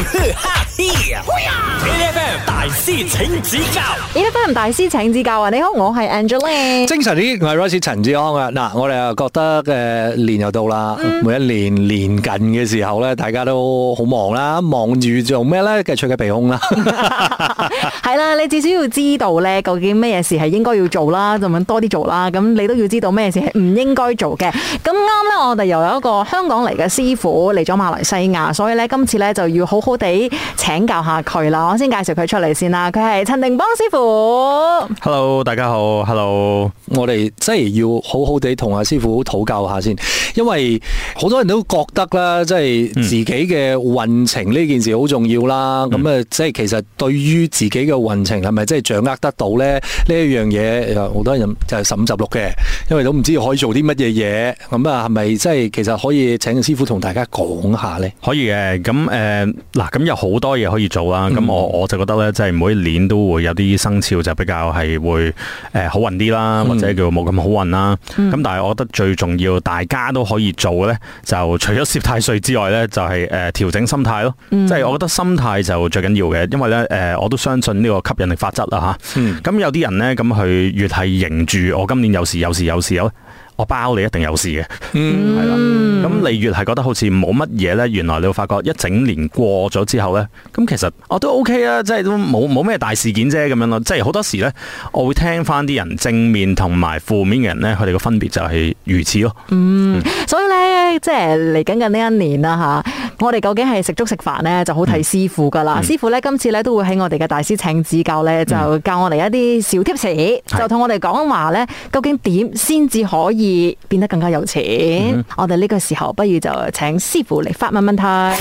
，8FM 大師請指教 8FM 大師請指教啊！你好，我係 Angeline。 精神啲，我係 Royce 陳志安啊！嗱，我哋又覺得年又到啦，每一年年近嘅時候咧，大家都好忙啦，忙住做咩咧？繼續嘅鼻空啦， 係啦，你至少要知道咧，究竟咩嘢事係應該要做啦，就咁多啲做啦。咁你都要知道咩事係唔應該做嘅。咁啱咧，我哋又有一個香港嚟嘅師傅嚟咗馬來西亞，所以咧今次咧就要好好地請教下佢啦。我先介紹佢出嚟先啦，佢係陳定邦師傅。 Hello， 大家好。Hello， 我哋真係要好好地同阿師傅討教下先，因為好多人都覺得啦，即係自己嘅運程呢件事好重要啦。咁啊，即係其實對於自己嘅運程係咪真係掌握得到咧？呢一樣嘢好多人就係15、16嘅，因為都唔知可以做啲乜嘢嘢。咁啊，係咪即係其實可以請師傅同大家講下咧？ 可以嘅。咁嗱，咁有好多嘢可以做啦。咁我就覺得咧，即係每一年都會有啲生肖就比較係會好運啲啦，或者叫冇咁好運啦。咁但係我覺得最重要，大家都可以做嘅咧，就除咗攝太歲之外咧，就係調整心態咯。即係我覺得心態就最緊要嘅，因為咧我都相信呢個吸引力法則啦嚇。咁有啲人咧，咁佢越係迎住我今年有事，我包你一定有事嘅，係啦。咁你越係覺得好似冇乜嘢咧，原來你會發覺一整年過咗之後咧，咁其實我都 OK 啊，即係都冇咩大事件啫咁樣咯。即係好多時咧，我會聽翻啲人正面同埋負面嘅人咧，佢哋嘅分別就係如此咯。 所以咧，即係嚟緊嘅呢一年啦嚇，我哋究竟係食粥食飯咧，就好睇師傅噶啦。師傅咧今次咧都會喺我哋嘅大師請指教咧，就教我哋一啲小貼士，就同我哋講話咧，究竟點先至可以變得更加有錢。我哋呢個時候不如就請師傅嚟發問問題。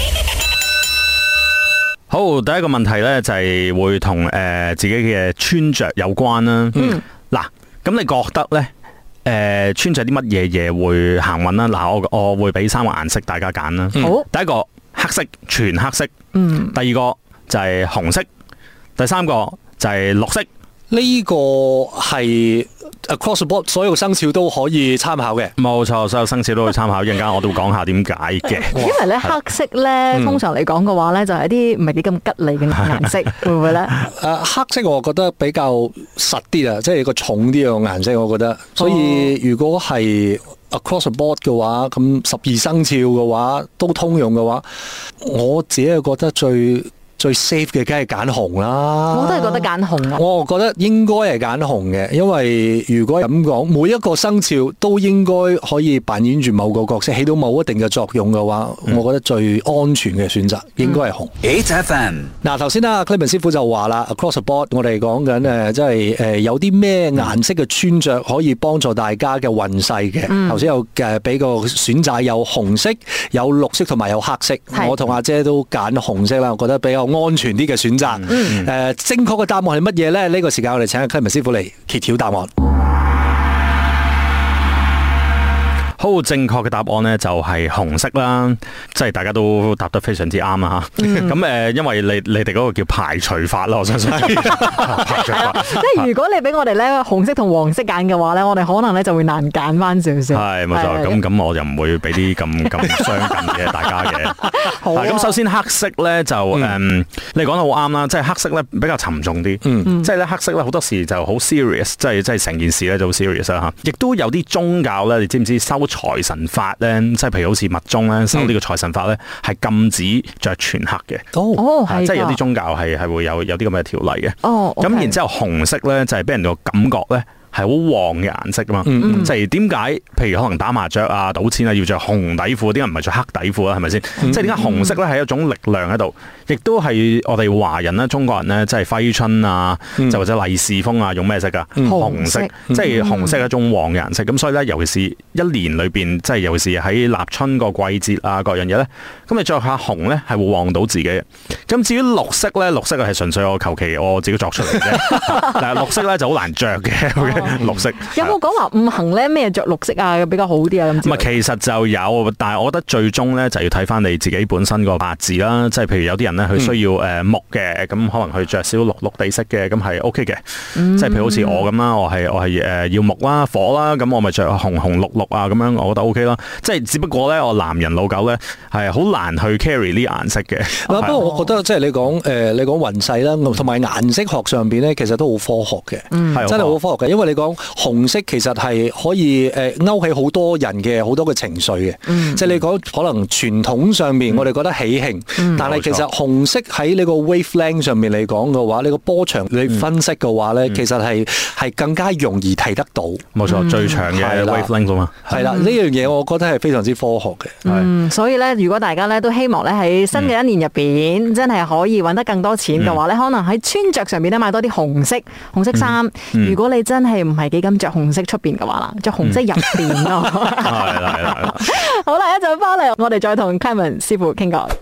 好，第一個問題咧就係會同自己嘅穿着有關啦。嗱，咁你覺得咧穿着啲乜嘢嘢會行運啦？嗱，我會俾3個顏色大家揀啦。好，第一個黑色，全黑色。第二個就係紅色，第三個就係綠色。 呢個係 across the board 所有生肖都可以參考嘅。 冇錯，所有生肖都可以參考。一陣間我都會講下點解嘅。 因為咧黑色咧，通常嚟講嘅話咧，就係一啲唔係幾咁吉利嘅顏色，會唔會咧？ 黑色我覺得比較實啲啊，即係個重啲嘅顏色，我覺得。所以如果係 across the board 嘅話，咁12生肖嘅話都通用嘅話，我自己係覺得最 safe 嘅梗係揀紅啦。 我都係覺得揀紅啊。 我覺得應該係揀紅嘅，因為如果咁講，每一個生肖都應該可以扮演住某個角色，起到某一定嘅作用嘅話，我覺得最安全嘅選擇應該係紅。 8FM 嗱，頭先啦 Clement 師傅就話啦 ，across the board 我哋講緊即係有啲咩顏色嘅穿着可以幫助大家嘅運勢嘅。頭先有俾個選擇，有紅色、有綠色同埋有黑色。我同阿姐都揀紅色啦，我覺得比較安全啲嘅選擇。正確嘅答案係乜嘢咧？呢個時間我哋請阿 Clement 師傅嚟揭曉答案。 好，正確嘅答案呢就係紅色啦，即係大家都答得非常之啱啦吓。咁因為你哋嗰個叫排除法啦，我相信。排除法， 即係如果你俾我哋咧紅色同黃色揀嘅話咧，我哋可能咧就會難揀翻少少。 係冇錯，咁我就唔會俾啲咁相近嘅大家嘅。 好啊。 咁首先黑色咧就你講得好啱啦，即係黑色咧比較沉重啲。即係咧黑色咧好多時就好 serious，即係成件事咧就好 serious 啦吓。亦都有啲宗教咧，你知唔知收財神法咧，即係譬如好似密宗咧，收呢個財神法咧，係禁止着全黑嘅。即係有啲宗教係會有啲咁嘅條例嘅。咁然之後紅色咧就係俾人個感覺咧係好旺嘅顏色噶嘛。即係點解？譬如可能打麻雀啊、賭錢啊要着紅底褲，點解唔係着黑底褲啊？係咪先？即係點解紅色咧係一種力量喺度，亦都係我哋華人啦、中國人咧，即係揮春啊，就或者利是封啊，用咩色噶？紅色，即係紅色係一種旺嘅顏色。咁所以咧，尤其是一年裏邊，即係尤其是喺立春個季節啊，各樣嘢咧，咁你着下紅咧係會旺到自己嘅。咁至於綠色咧，綠色係純粹我求其我自己作出嚟嘅。但係綠色咧就好難着嘅。 綠色。 有冇講話五行咧咩着綠色啊比較好啲啊？咁其實就有，但係我覺得最終咧就要睇翻你自己本身個八字啦。即係譬如有啲人咧，佢需要木嘅，咁可能佢着少綠地色嘅，咁係 OK 嘅。即係譬如好似我咁啦，我係要木啦、火啦，咁我咪着紅綠啊，咁樣我覺得 OK 啦。即係只不過咧，我男人老狗咧係好難去 carry 呢顏色嘅。 不過我覺得即係你講運勢啦，同埋顏色學上邊咧，其實都好科學嘅，真係好科學嘅。因為你講紅色其實係可以勾起好多人嘅好多嘅情緒嘅。即係你講可能傳統上面我哋覺得喜慶，但係其實紅色喺你個 wavelength 上面嚟講嘅話，你個波長你分析嘅話咧，其實係更加容易睇得到。 冇錯，最長嘅 wavelength 嘛。 係啦，呢樣嘢我覺得係非常之科學嘅。 所以咧，如果大家咧都希望咧喺新嘅一年入邊真係可以揾得更多錢嘅話咧，可能喺穿着上面咧買多啲紅色衫。如果你真係唔係幾敢着紅色出邊嘅話啦，着紅色入邊咯。 係啦。 好啦，一陣翻嚟，我哋再同 Clement 師傅傾過。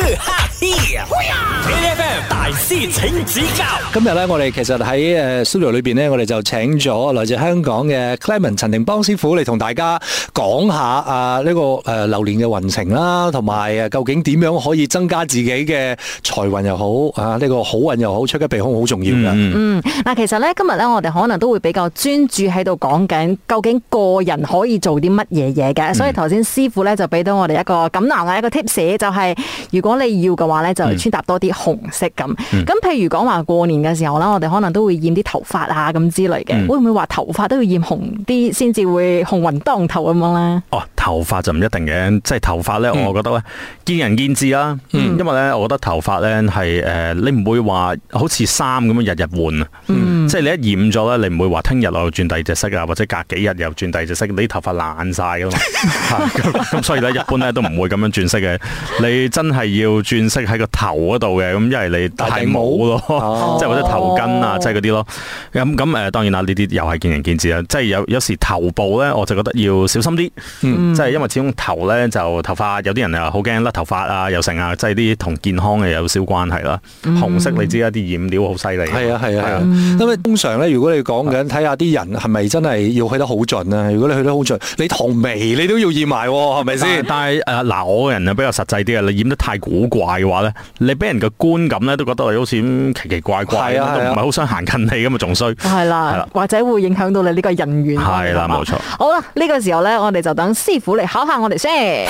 大師請指教。 今日咧，我哋其實喺studio 裏邊咧，我哋就請咗來自香港嘅 Clement 陳定邦師傅嚟同大家講下呢個流年嘅運程啦，同埋究竟點樣可以增加自己嘅財運又好呢個好運又好，趨吉避凶好重要㗎。 嗱，其實咧今日咧，我哋可能都會比較專注喺度講緊究竟個人可以做啲乜嘢嘢嘅，所以頭先師傅咧就俾到我哋一個錦囊嘅一個 tips， 就係如果你要嘅話咧，就穿搭多啲紅色咁。咁譬如講話過年嘅時候啦，我哋可能都會染啲頭髮啊咁之類嘅，會唔會話頭髮都要染紅啲先至會鴻運當頭咁樣咧？ 頭髮就唔一定嘅，即係頭髮咧，我覺得咧見仁見智啦。因為咧，我覺得頭髮咧係你唔會話好似衫咁樣日日換啊。即係你一染咗咧，你唔會話聽日我又轉第二隻色啊，或者隔幾日又轉第二隻色，你啲頭髮爛晒噶嘛。咁所以咧，一般咧都唔會咁樣轉色嘅。你真係要轉色喺個頭嗰度嘅，咁因為你戴帽咯，即係或者頭巾啊，即係嗰啲咯。咁當然啦，呢啲又係見仁見智啦。即係有時頭部咧，我就覺得要小心啲。即係因為始終頭咧就頭髮，有啲人又好驚甩頭髮啊，又成啊，即係啲同健康嘅有少關係啦。紅色你知啦，啲染料好犀利。係啊。因為通常咧，如果你講緊睇下啲人係咪真係要去得好盡啊？如果你去得好盡，你唐眉你都要染埋，係咪先？但係我個人比較實際啲啊，你染得太古怪嘅話咧，你俾人嘅觀感咧都覺得你好似奇奇怪怪，都唔係好想行近你咁啊，仲衰。係啦，或者會影響到你呢個人緣。係啦，冇錯。好啦，呢個時候咧，我哋就等師傅嚟考下我哋先。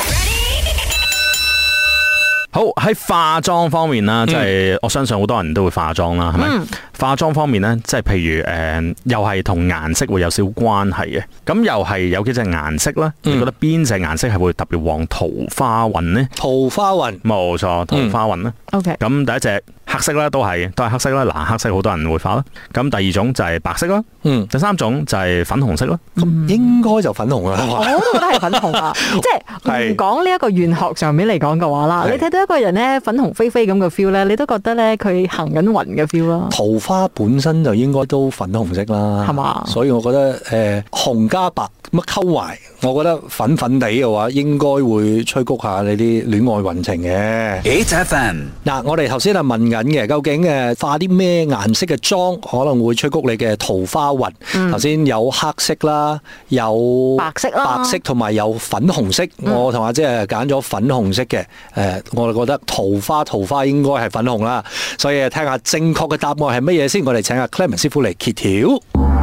好，喺化妝方面啦，即係我相信好多人都會化妝啦，係咪？化妝方面咧，即係譬如又係同顏色會有少關係嘅。咁又係有幾隻顏色啦？你覺得邊隻顏色係會特別旺桃花運呢？ 桃花運， 冇錯，桃花運啦。OK。咁第一隻黑色啦，都係黑色啦。嗱，黑色好多人會化啦。咁第二種就係白色啦。第三種就係粉紅色啦。 應該就粉紅啦。 我都覺得係粉紅啊。即係唔講呢一個玄學上面嚟講嘅話啦，你睇到一個人咧粉紅飛飛咁嘅 feel 咧，你都覺得咧佢行緊運嘅 feel 啦。 桃花本身就應該都粉紅色啦，係嘛？所以我覺得紅加白乜溝埋，我覺得粉粉地嘅話，應該會催谷下你啲戀愛運程嘅。 8FM 嗱，我哋頭先係問緊嘅，究竟化啲咩顏色嘅妝可能會催谷你嘅桃花運？頭先有黑色啦，有白色同埋有粉紅色。我同阿姐揀咗粉紅色嘅，我哋覺得桃花應該係粉紅啦。所以聽下正確嘅答案係乜嘢先？我哋請阿 Clement 師傅嚟揭曉。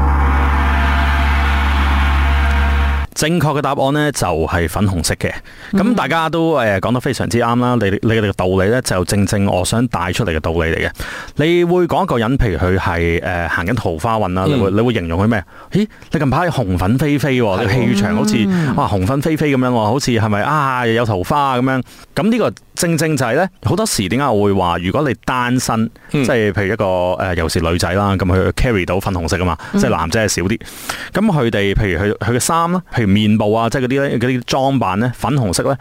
正確嘅答案呢，就係粉紅色嘅，咁大家都講得非常之啱啦。你哋嘅道理呢，就正我想帶出嚟嘅道理嚟嘅。你會講一個人，譬如佢係行緊桃花運啦，你會形容佢咩？咦，你近排紅粉飛飛，你氣場好似紅粉飛飛咁樣，好似係咪有桃花咁樣？咁呢個正就係呢，好多時點解我會話，如果你單身，即係譬如一個尤其是女仔啦，咁佢 carry 到粉紅色啊嘛，即係男仔係少啲。咁佢哋譬如佢嘅衫啦，譬如面部啊，即係嗰啲裝扮咧，粉紅色咧，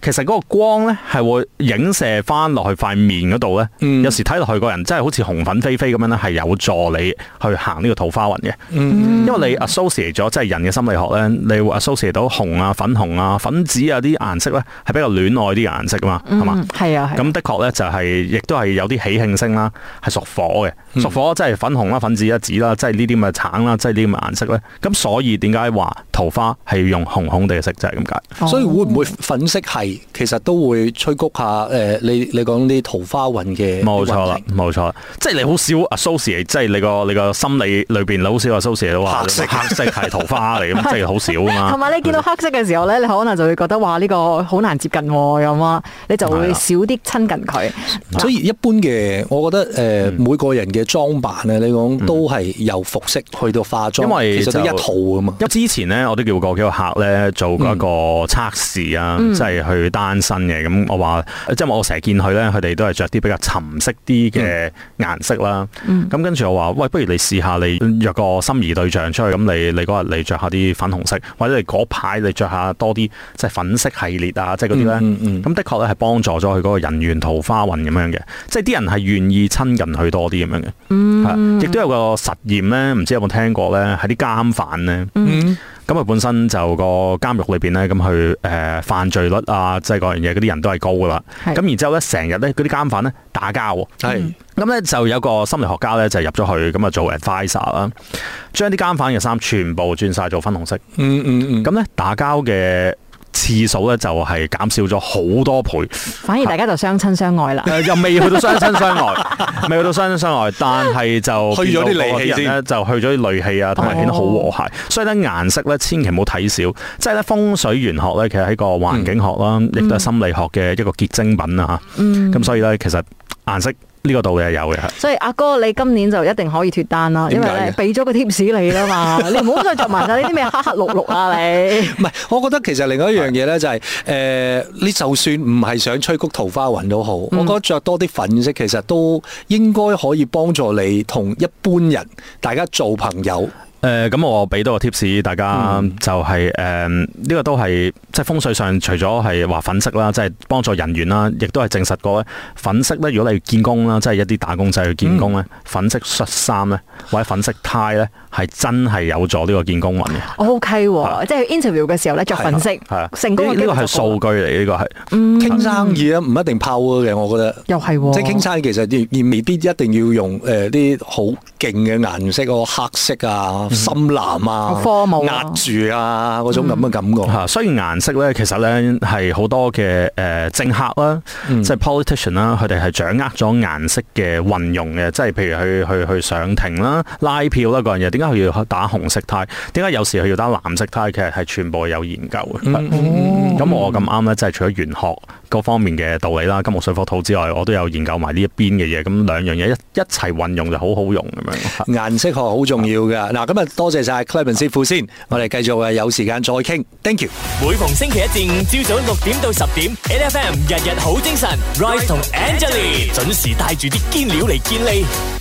其實嗰個光咧係會影射翻落去塊面嗰度咧，有時睇落去個人真係好似紅粉飛飛咁樣咧，係有助你去行呢個桃花運嘅。因為你 associate 咗即係人嘅心理學咧，你會 associate 到紅啊、粉紅啊、粉紫啊啲顏色咧係比較戀愛啲顏色噶嘛，係嘛？ 係啊， 咁的確咧就係亦都係有啲喜慶星啦，係屬火嘅，屬火即係粉紅啦、粉紫啦、紫啦，即係呢啲咁嘅橙啦，即係呢啲咁嘅顏色咧。咁所以點解話桃花係要用紅紅地嘅色就係咁解？ 所以會唔會粉色係其實都會催谷下你講啲桃花運嘅？ 冇錯啦，冇錯啦，即係你好少 associate， 即係你個心理裏邊好少 associate 到話黑色係桃花嚟咁，即係好少啊嘛。 同埋你見到黑色嘅時候咧，你可能就會覺得話呢個好難接近咁啊，你就會少啲親近佢。 所以一般嘅，我覺得每個人嘅裝扮咧，你講都係由服飾去到化妝， 因為其實都一套啊嘛。 因為之前咧，我都叫過幾個客咧做過一個測試啊，即係去單身嘅。咁我話，即係我成日見佢咧，佢哋都係着啲比較沉色啲嘅顏色啦。咁跟住我話，喂，不如你試下你約個心儀對象出去，咁你嗰日你着下啲粉紅色，或者你嗰排你着下多啲即係粉色系列啊，即係嗰啲咧。咁的確咧係幫助咗佢嗰個人緣桃花運咁樣嘅，即係啲人係願意親近佢多啲咁樣嘅。亦都有個實驗咧，唔知有冇聽過咧？係啲監犯咧。咁佢本身就個監獄裏邊咧，咁佢犯罪率啊，即係嗰樣嘢，嗰啲人都係高噶啦。咁然之後咧，成日咧嗰啲監犯咧打交。咁咧就有個心理學家咧就入咗去，咁啊做 advisor 啦，將啲監犯嘅衫全部轉晒做粉紅色。咁咧打交嘅次數咧就係減少咗好多倍， 反而大家就相親相愛啦。 又未去到相親相愛，未去到相親相愛，但係就去咗啲戾氣咧，就去咗啲戾氣啊，同埋顯得好和諧。所以咧顏色咧千祈唔好睇少，即係咧風水玄學咧，其實喺個環境學啦，亦都係心理學嘅一個結晶品啊。咁所以咧，其實顏色呢個道理係有嘅。 所以阿哥，你今年就一定可以脫單啦，因為咧俾咗個 tips 你啦嘛，你唔好再着埋晒呢啲咩黑黑綠綠啊你。 唔係，我覺得其實另外一樣嘢咧就係你就算唔係想催谷桃花運都好，我覺得着多啲粉色其實都應該可以幫助你同一般人大家做朋友。 咁我俾多個 tips 大家，就係呢個都係即係風水上，除咗係話粉色啦，即係幫助人緣啦，亦都係證實過咧。粉色咧，如果你見工啦，即係一啲打工仔去見工咧，粉色恤衫咧，或者粉色呔咧，係真係有助呢個見工運嘅。 OK，即係 interview 嘅時候咧，着粉色，成功嘅機會就高。呢個係數據嚟，呢個係傾生意啊，唔一定拋嘅，我覺得。 又係， 即係傾生意，其實而未必一定要用啲好勁嘅顏色，黑色啊。深藍啊，壓住啊，嗰種咁嘅感覺。 所以顏色咧，其實咧係好多嘅政客啦，即係 politician 啦，佢哋係掌握咗顏色嘅運用嘅。即係譬如去上庭啦、拉票啦嗰樣嘢，點解佢要打紅色呔？點解有時佢要打藍色呔？其實係全部有研究嘅。咁我咁啱咧，即係除咗玄學嗰方面嘅道理啦，金木水火土之外，我都有研究埋呢一邊嘅嘢。咁兩樣嘢一齊運用就好好用咁樣。 顏色學好重要㗎。嗱，今日多謝晒 Clement 師傅先，我哋繼續有時間再傾。Thank you。 每逢星期一至五朝早6點到10點 ，NFM 日日好精神 ，Rise 同 Angelie 準時帶住啲堅料嚟健利。